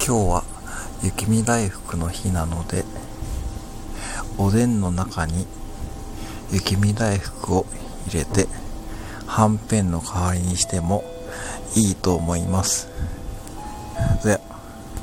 今日は雪見大福の日なので、おでんの中に雪見大福を入れてはんぺんの代わりにしてもいいと思います。で